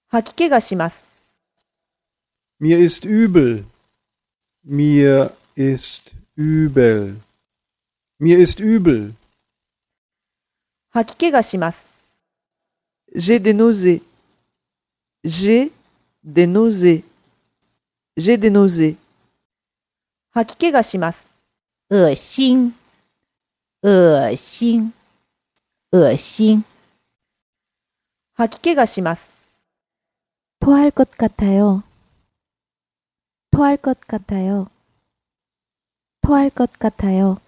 吐き気がします。 Mir ist übel. Mir ist übel. Mir ist übel. 吐き気がします。J'ai des nausées. J'ai des nausées. J'ai des nausées. 吐き気がします。 恶心，恶心，恶心。 吐き気がします。 토할 것 같아요. 토할 것 같아요. 토할 것 같아요.